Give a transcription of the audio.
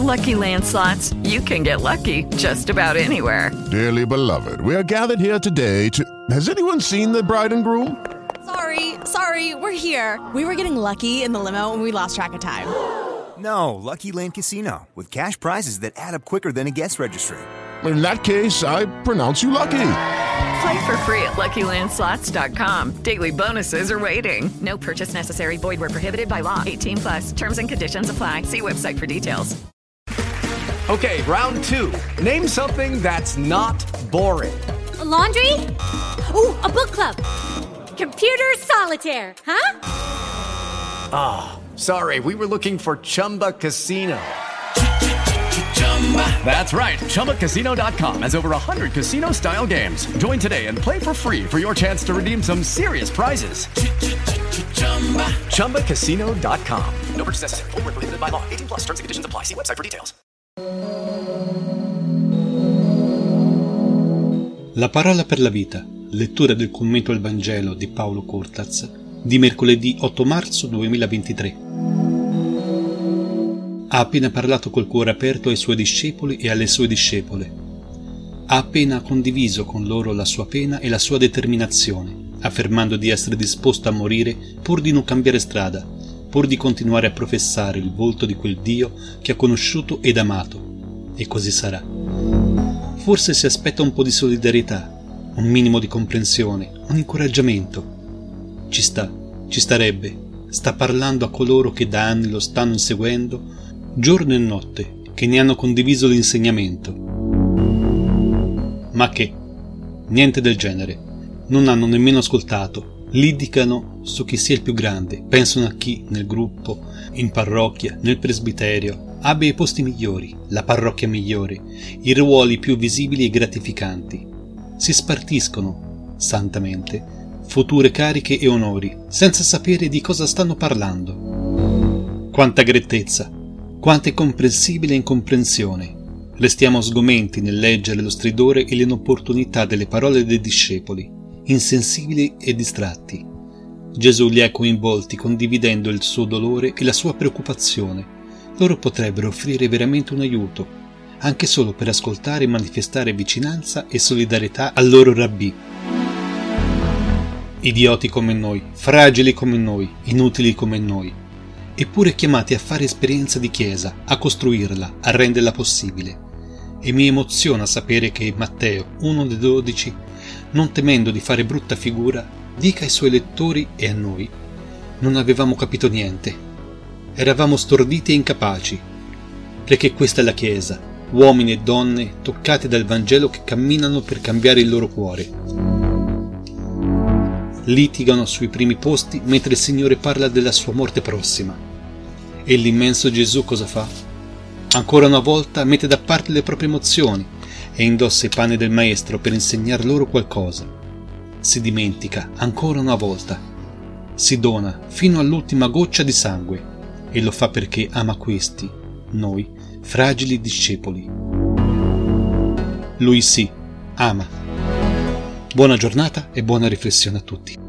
Lucky Land Slots, you can get lucky just about anywhere. Dearly beloved, we are gathered here today to... Has anyone seen the bride and groom? Sorry, we're here. We were getting lucky in the limo and we lost track of time. No, Lucky Land Casino, with cash prizes that add up quicker than a guest registry. In that case, I pronounce you lucky. Play for free at LuckyLandSlots.com. Daily bonuses are waiting. No purchase necessary. Void where prohibited by law. 18+. Terms and conditions apply. See website for details. Okay, round two. Name something that's not boring. A laundry? Ooh, a book club. Computer solitaire, huh? Ah, sorry, we were looking for Chumba Casino. That's right, ChumbaCasino.com has over 100 casino-style games. Join today and play for free for your chance to redeem some serious prizes. ChumbaCasino.com. No purchase necessary. Void where prohibited by law. 18+. Terms and conditions apply. See website for details. La parola per la vita. Lettura del commento al Vangelo di Paolo Cortaz di mercoledì 8 marzo 2023. Ha appena parlato col cuore aperto ai suoi discepoli e alle sue discepole. Ha appena condiviso con loro la sua pena e la sua determinazione, affermando di essere disposto a morire pur di non cambiare strada, pur di continuare a professare il volto di quel Dio che ha conosciuto ed amato. E così sarà. Forse si aspetta un po' di solidarietà, un minimo di comprensione, un incoraggiamento. Ci starebbe. Sta parlando a coloro che da anni lo stanno seguendo, giorno e notte, che ne hanno condiviso l'insegnamento. Ma che? Niente del genere. Non hanno nemmeno ascoltato. Litigano su chi sia il più grande, pensano a chi nel gruppo, in parrocchia, nel presbiterio, abbia i posti migliori, la parrocchia migliore, i ruoli più visibili e gratificanti. Si spartiscono, santamente, future cariche e onori, senza sapere di cosa stanno parlando. Quanta grettezza, quanta incomprensibile incomprensione. Restiamo sgomenti nel leggere lo stridore e l'inopportunità delle parole dei discepoli, insensibili e distratti. Gesù li ha coinvolti condividendo il suo dolore e la sua preoccupazione. Loro potrebbero offrire veramente un aiuto, anche solo per ascoltare e manifestare vicinanza e solidarietà al loro rabbì. Idioti come noi, fragili come noi, inutili come noi, eppure chiamati a fare esperienza di Chiesa, a costruirla, a renderla possibile. E mi emoziona sapere che Matteo, uno dei 12, non temendo di fare brutta figura, dica ai suoi lettori e a noi: non avevamo capito niente, eravamo storditi e incapaci, perché questa è la Chiesa, uomini e donne toccati dal Vangelo che camminano per cambiare il loro cuore. Litigano sui primi posti mentre il Signore parla della sua morte prossima. E l'immenso Gesù cosa fa? Ancora una volta mette da parte le proprie emozioni e indossa i panni del Maestro per insegnar loro qualcosa. Si dimentica ancora una volta. Si dona fino all'ultima goccia di sangue e lo fa perché ama questi, noi, fragili discepoli. Lui sì, ama. Buona giornata e buona riflessione a tutti.